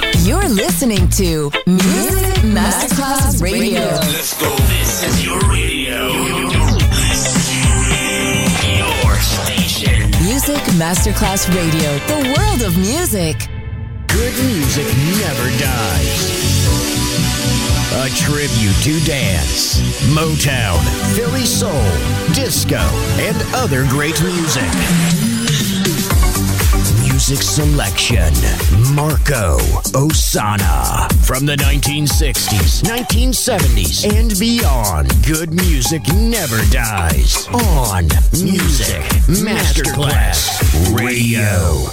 You're listening to Music Masterclass Radio. Let's go. This is your radio. Your station. Music Masterclass Radio. The world of music. Good music never dies. A tribute to dance, Motown, Philly soul, disco, and other great music. Music selection, Marco Ossanna. From the 1960s, 1970s, and beyond, good music never dies. On Music Masterclass Radio.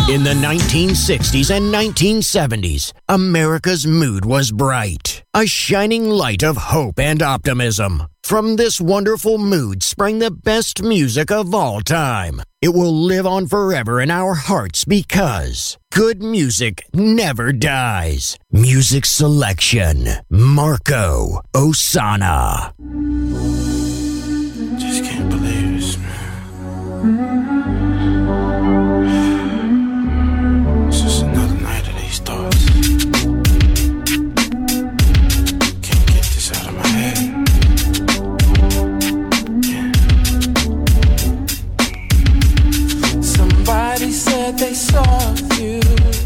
In the 1960s and 1970s, America's mood was bright, a shining light of hope and optimism. From this wonderful mood sprang the best music of all time. It will live on forever in our hearts because good music never dies. Music selection, Marco Ossanna. Just can't believe this, man. It's just another night of these thoughts. Can't get this out of my head. Yeah. Somebody said they saw you.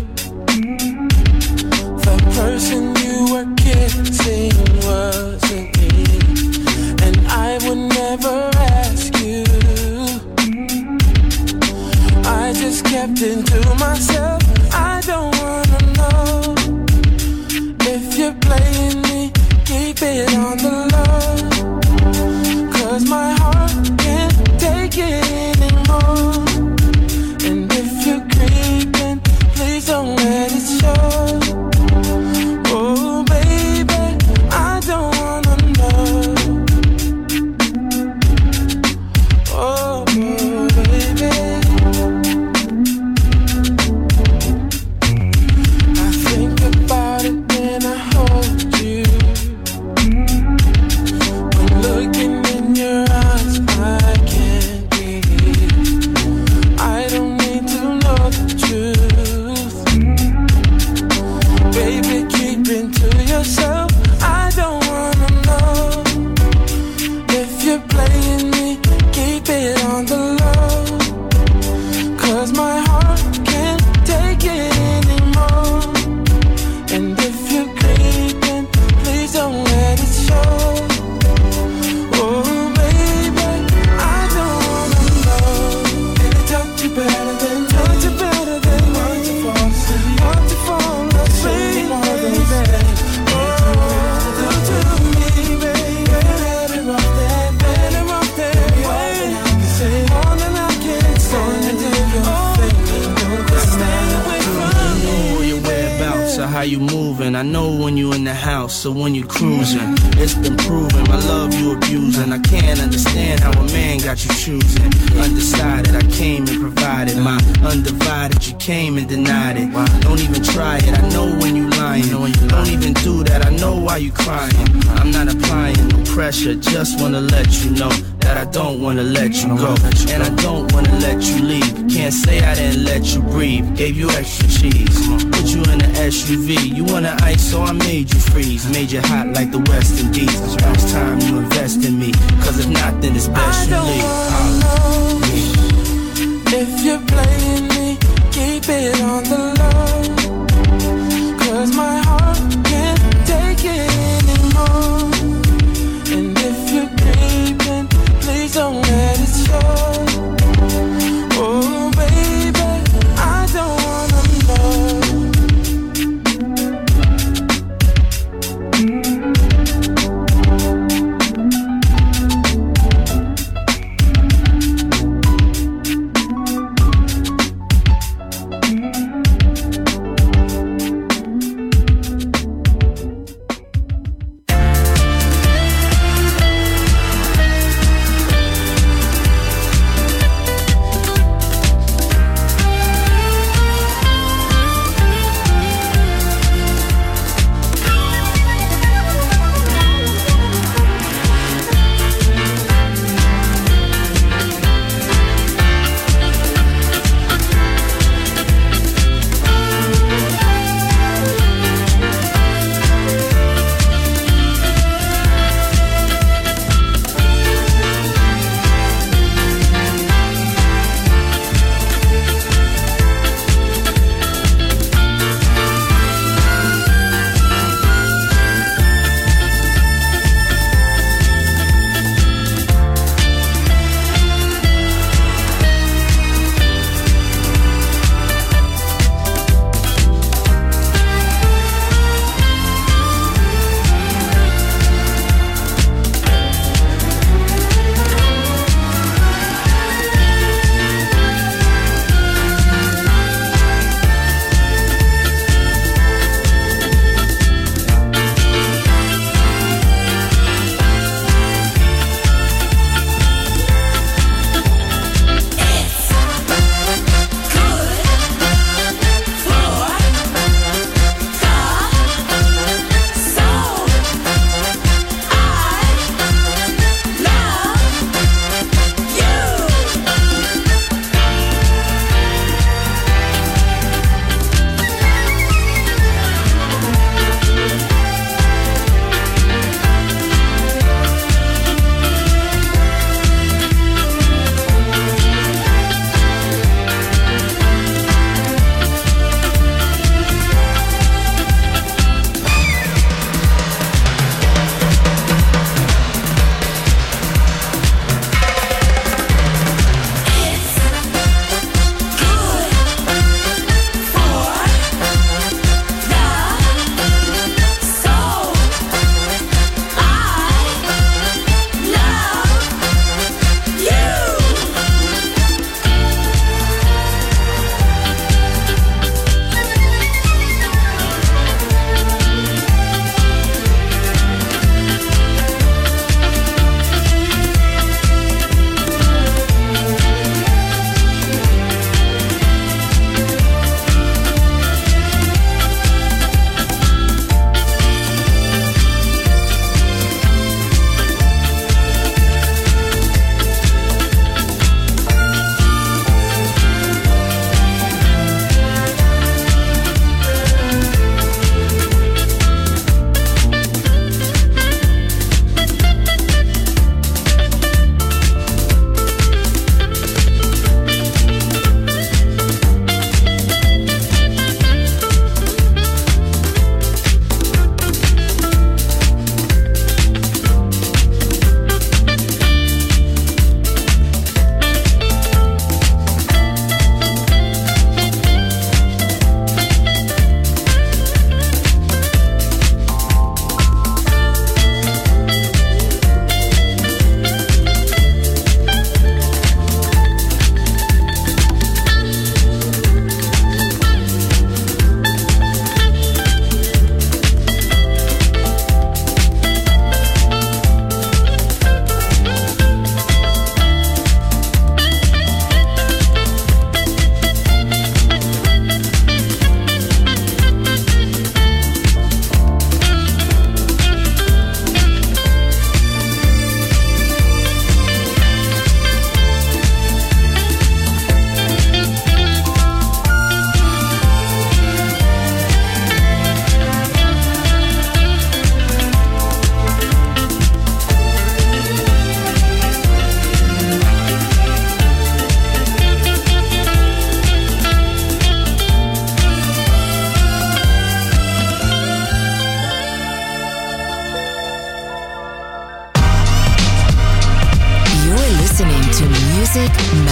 The person you were kissing wasn't me. And I would never ask you. I just kept it to myself. I don't wanna know if you're playing me. Keep it on the low, 'cause my heart can't take it anymore. And if you're creeping, please don't let it show. Oh baby, I don't wanna know. Oh baby, I think about it when I hold you. When looking in your eyes, I can't breathe. I don't need to know the truth. Baby, keep it to yourself. I don't wanna know if you're playing me. Keep it on the low, 'cause my heart can't take it anymore. And if you're creeping, please don't let it show. Oh baby, I don't wanna know. Did it touch you better than me? Touch you better than me? Want to fall asleep? Want to fall asleep, baby? Oh, do to me, baby. Better off that way. More than I can say. Stay away from me. I know your whereabouts or how you moving. I know when you in the house or when you cruising. It's been proven my love you abusing. I can't understand how a man got you choosing. Undecided, I came and provided my undivided. You came and denied it. Don't even try it. I know when you lying. Don't even do that. I know why you crying. I'm not applying no pressure. Just wanna let you know that I don't wanna let you go. And I don't wanna let you leave. Can't say I didn't let you breathe. Gave you extra cheese. Put you in an SUV. You wanna ice, so I made you freeze. Made you hot like the West Indies. Now it's time you invest in me. 'Cause if not, then it's best you leave. I don't wanna know if you're playing me. Keep it on the low, 'cause my heart can't take it anymore. And if you're creeping, please don't let it show. Oh baby, I don't wanna know.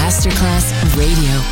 Masterclass Radio.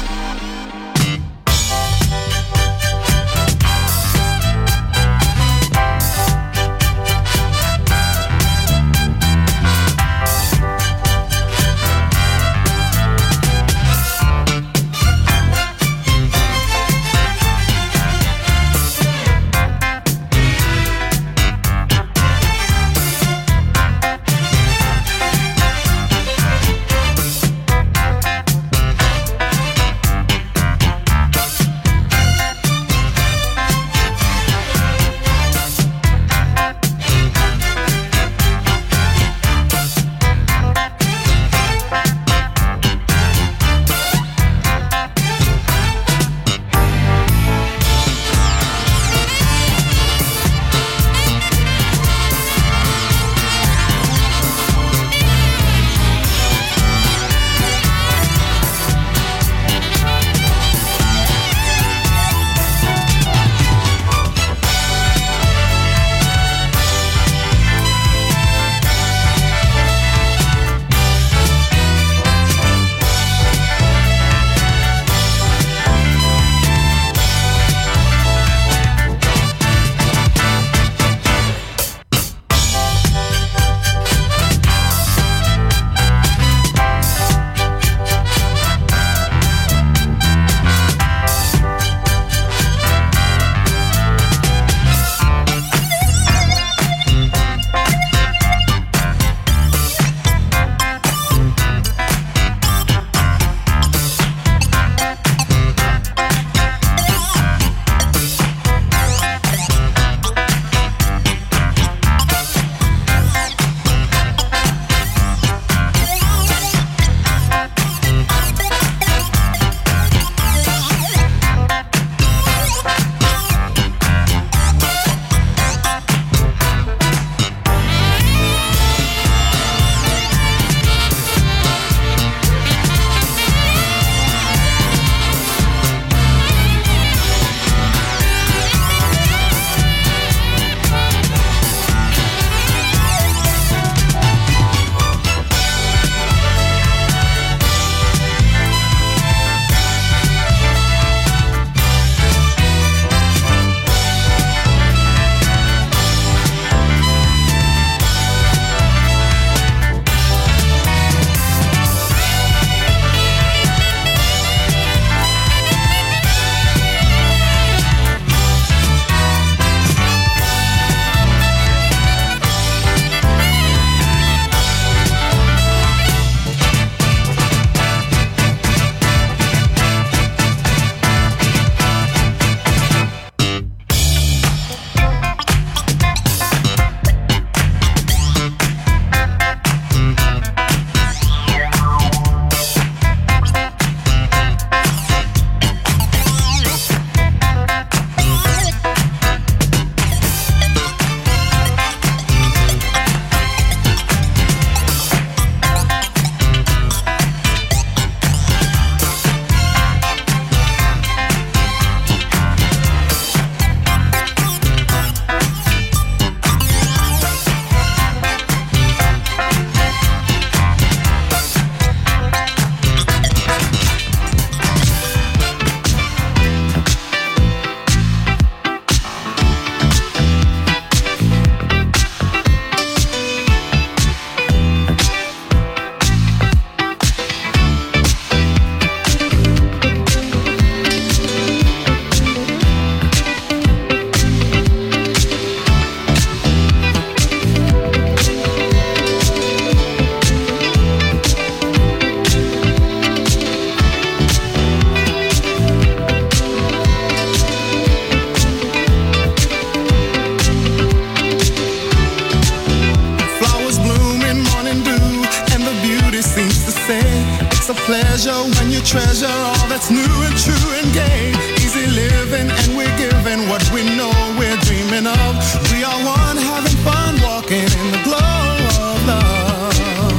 pleasure when you treasure all that's new and true and gay. Easy living and we're giving what we know we're dreaming of. We are one having fun walking in the glow of love.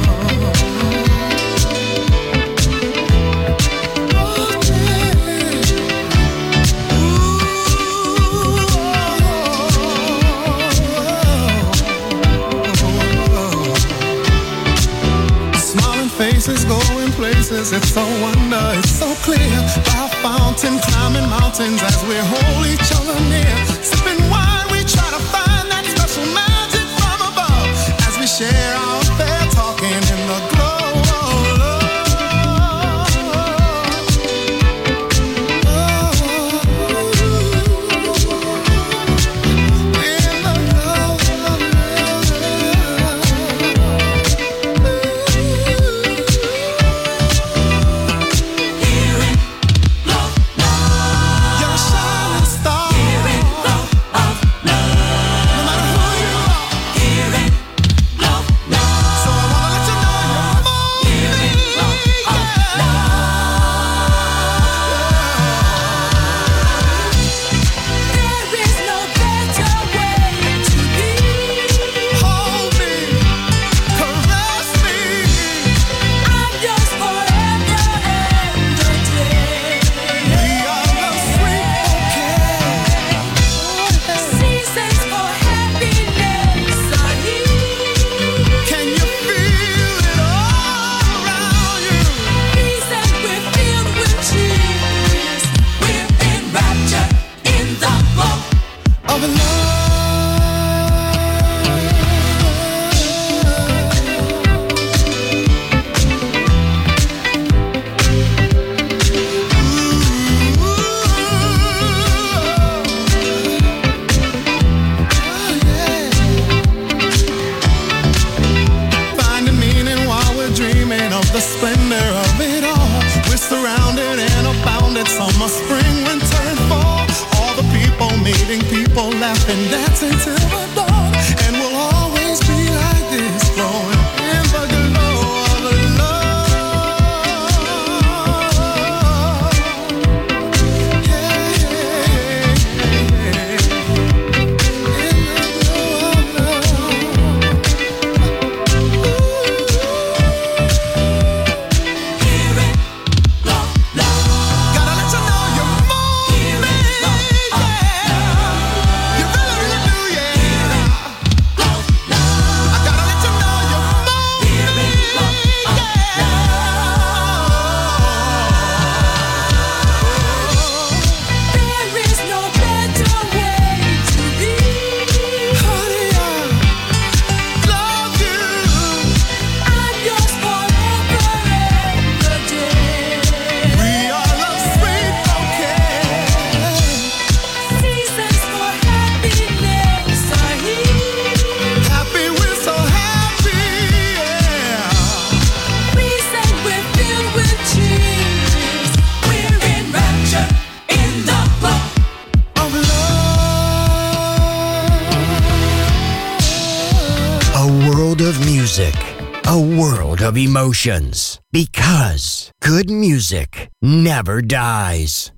Oh, yeah. Smiling faces going places peace, it's a wonder, it's so clear. By a fountain, climbing mountains as we hold each other near. Sipping wine, we try to find that special magic from above. As we share our affair, talking in the glow. Of emotions, because good music never dies.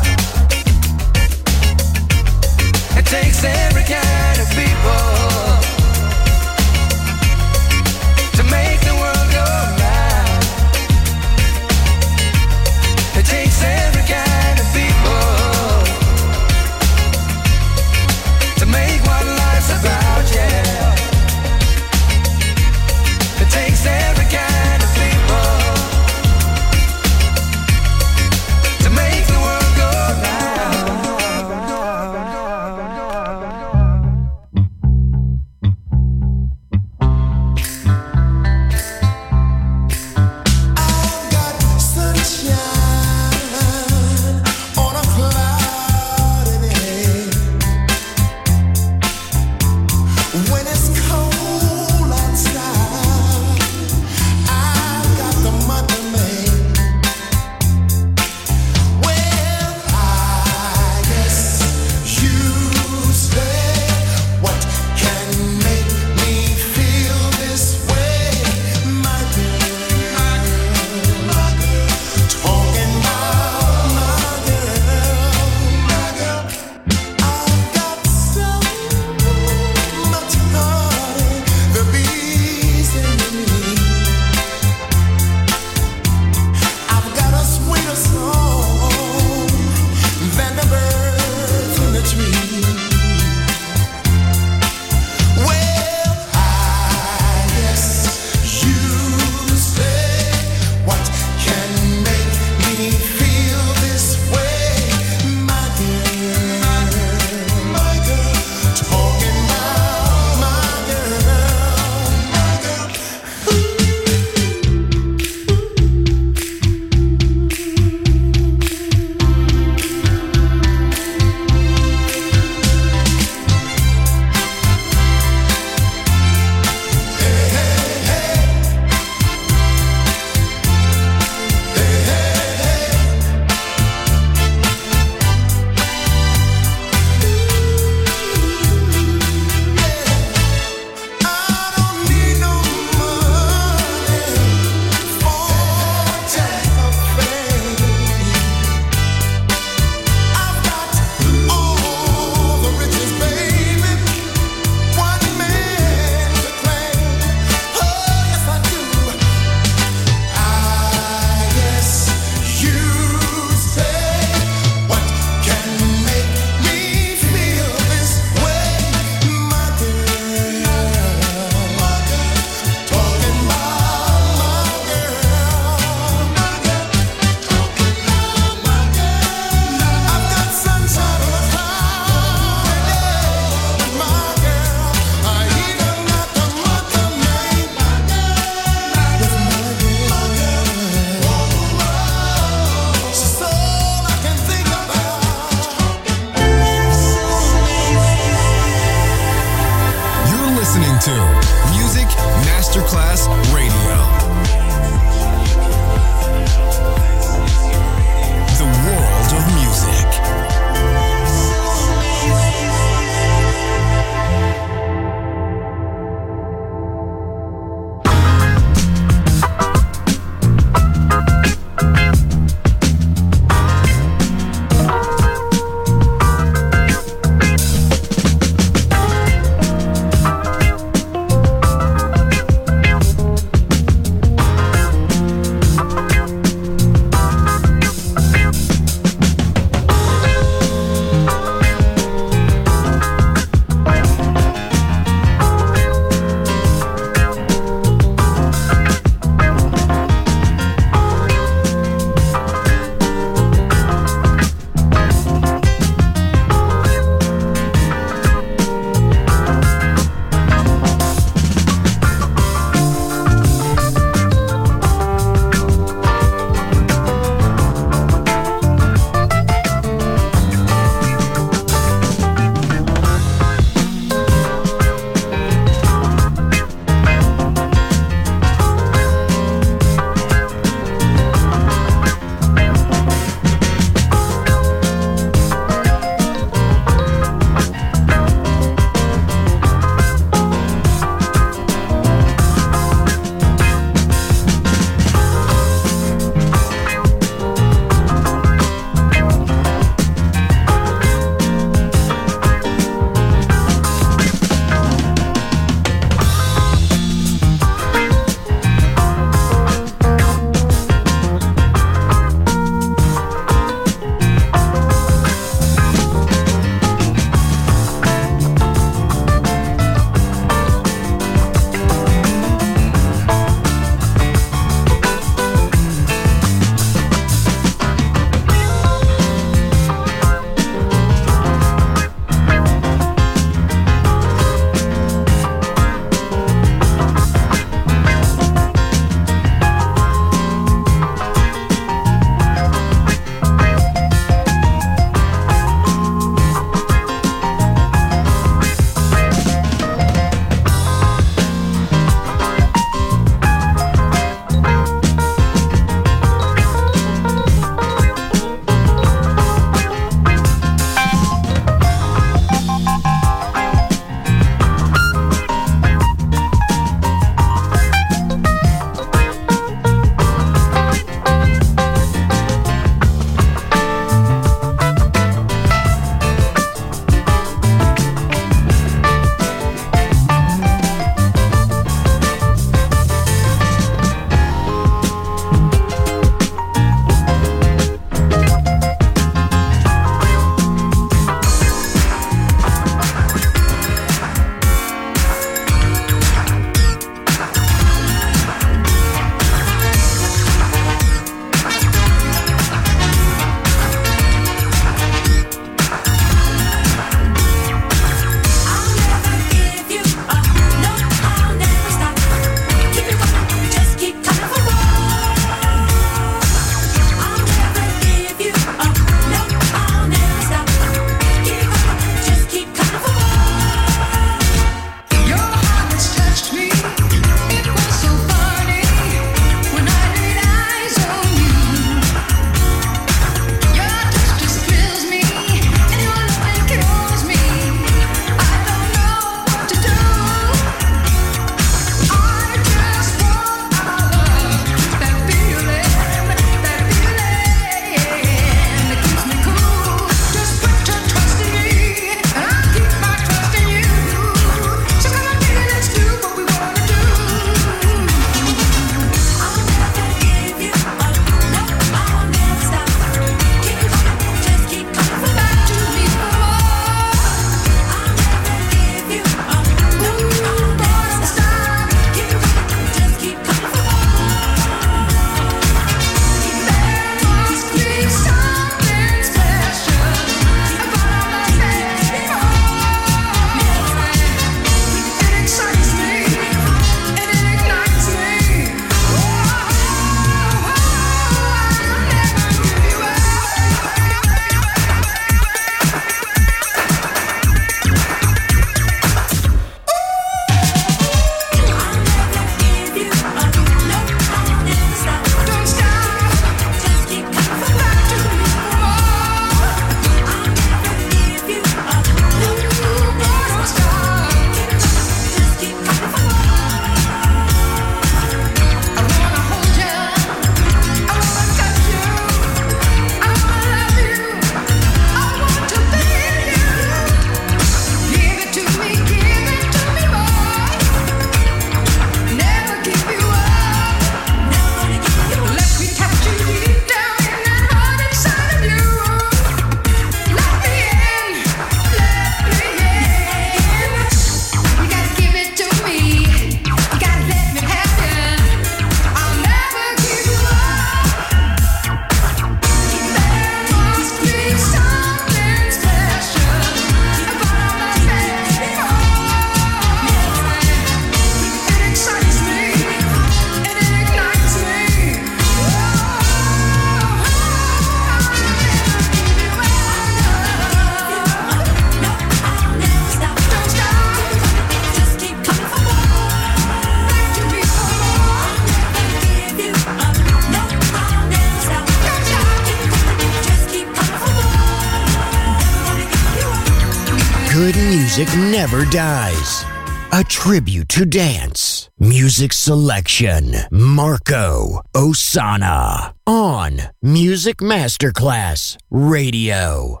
music never dies. A tribute to dance. Music selection. Marco Ossanna. On Music Masterclass Radio.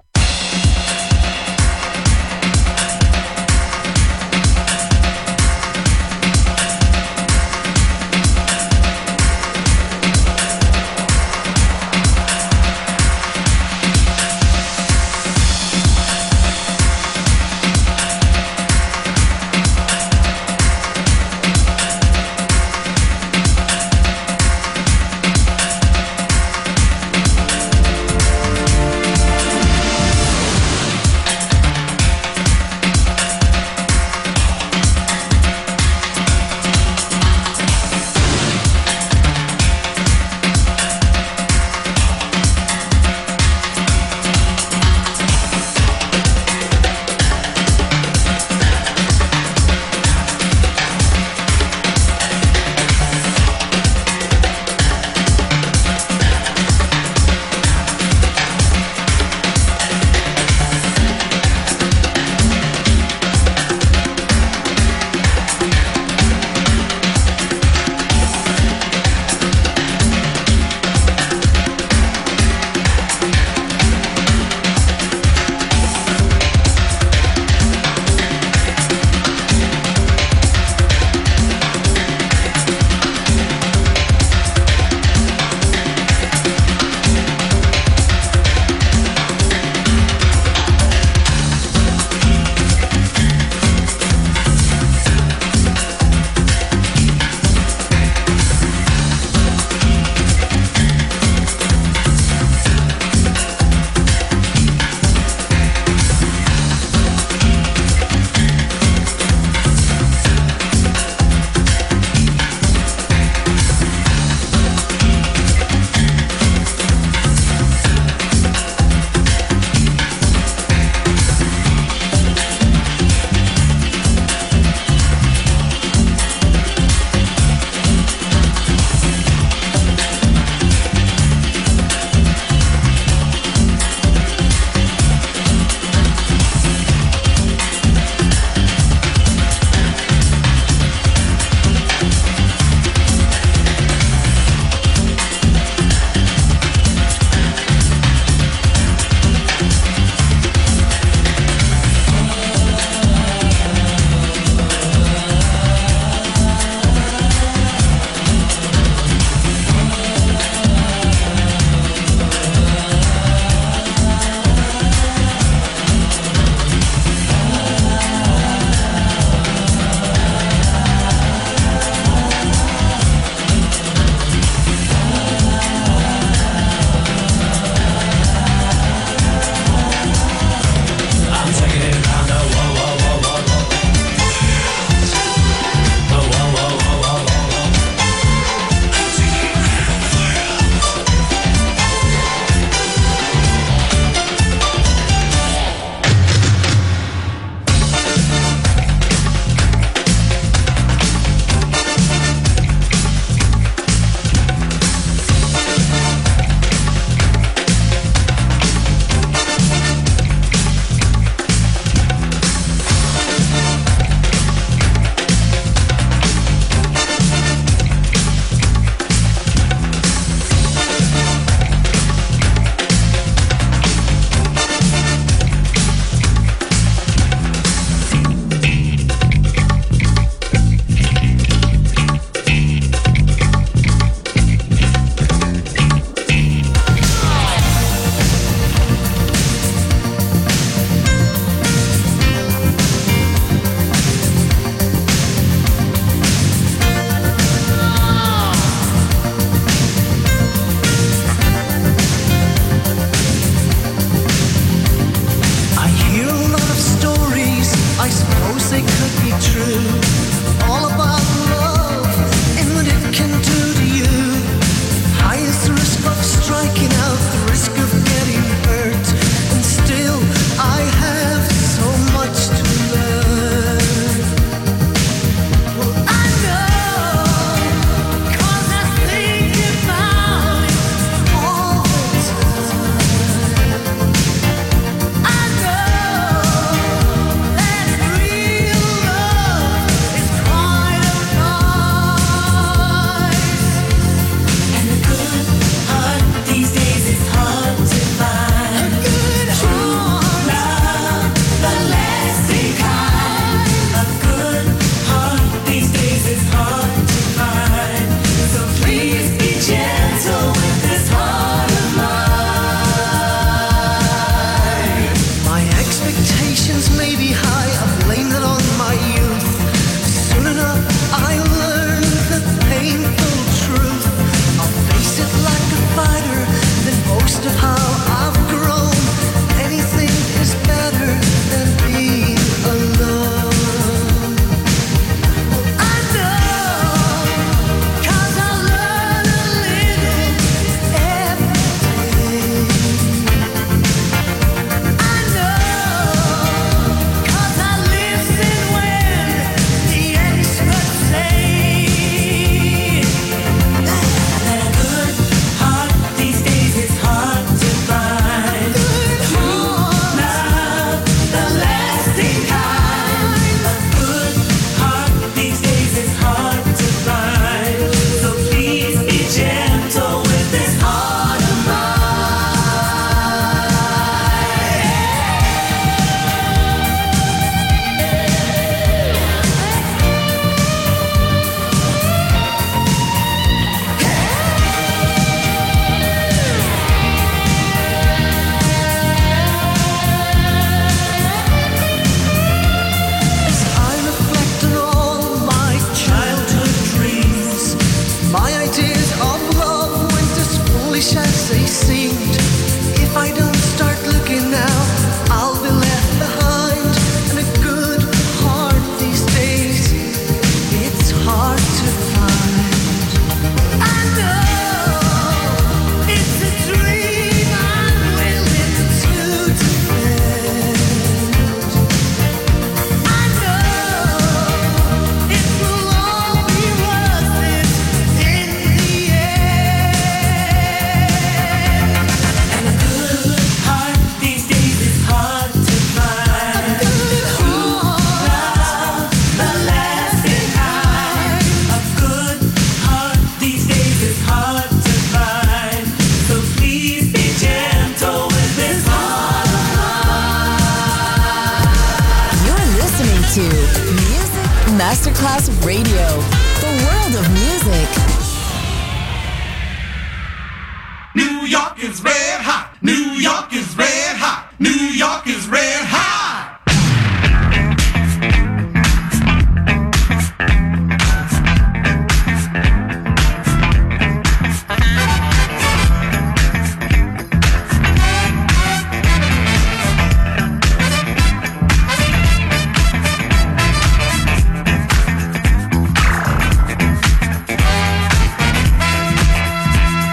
is red hot. New York is red hot. New York is red hot.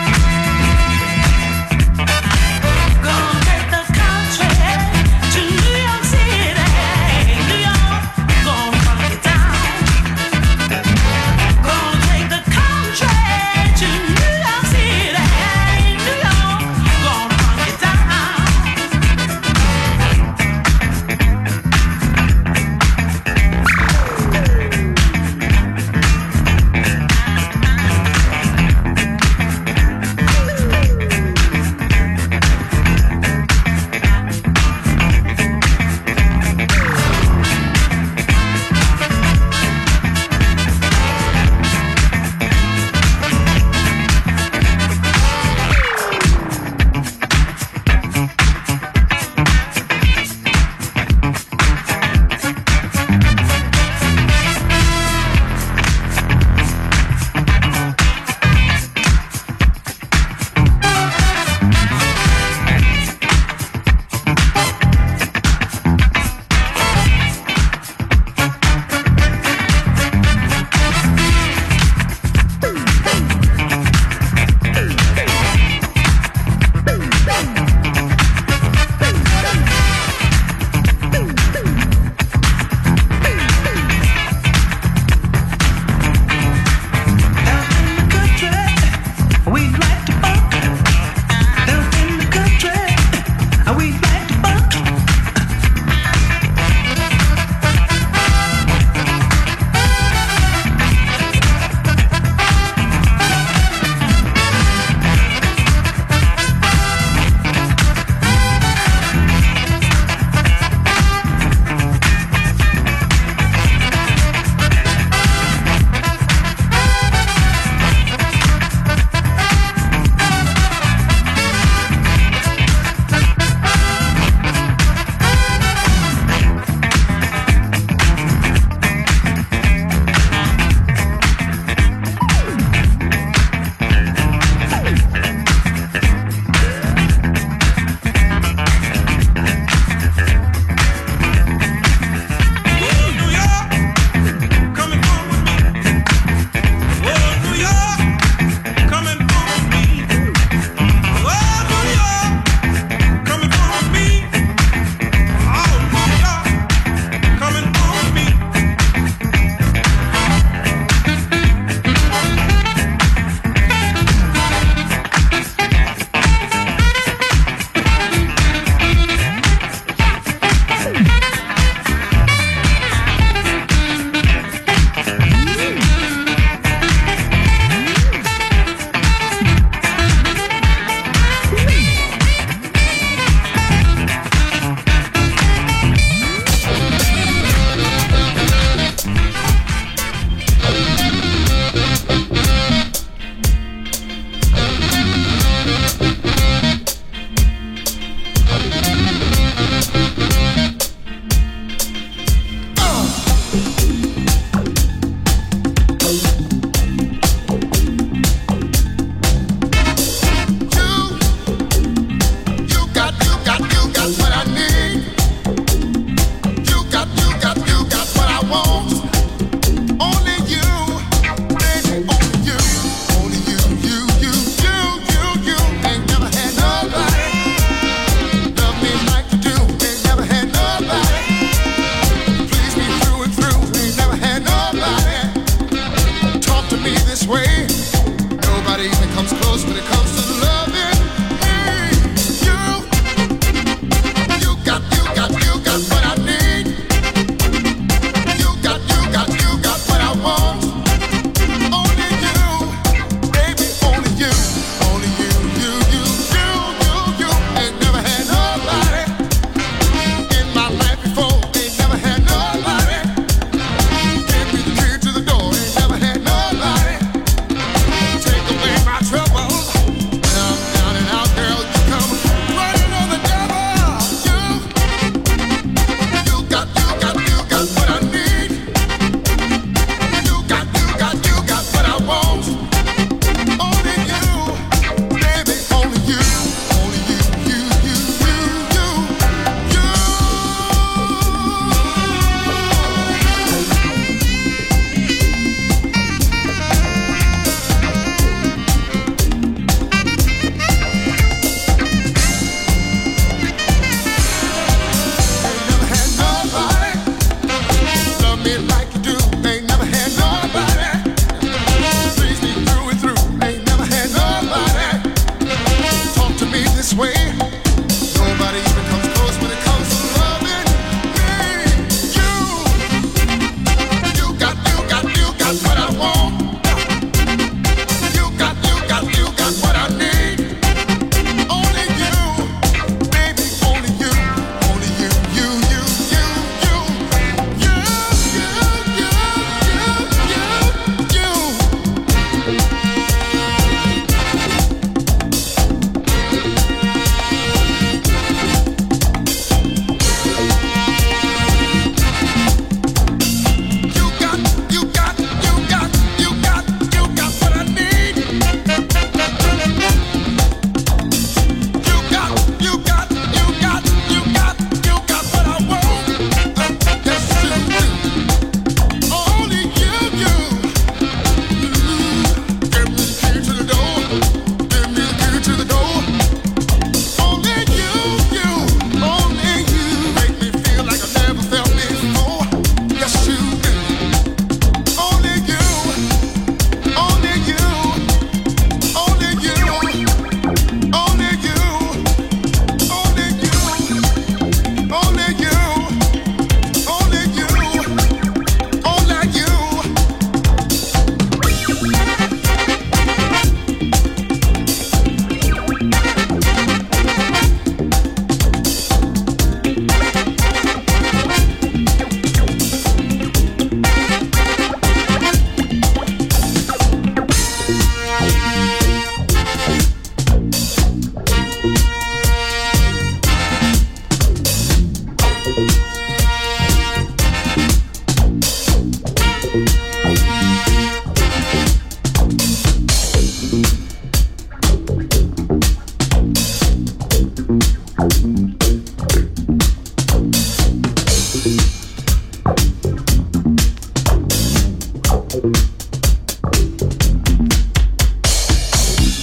Gonna take the country to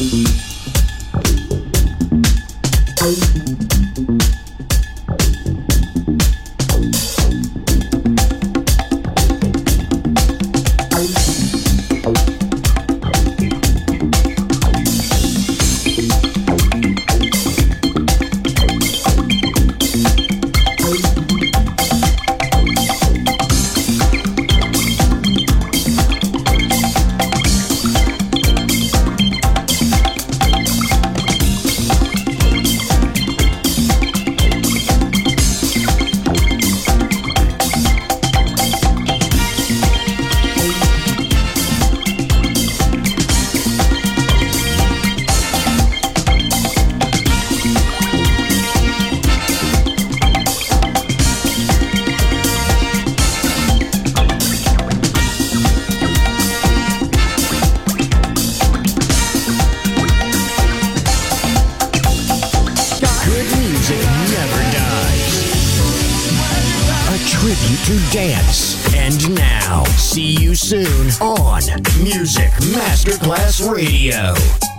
To dance. And now, see you soon on Music Masterclass Radio.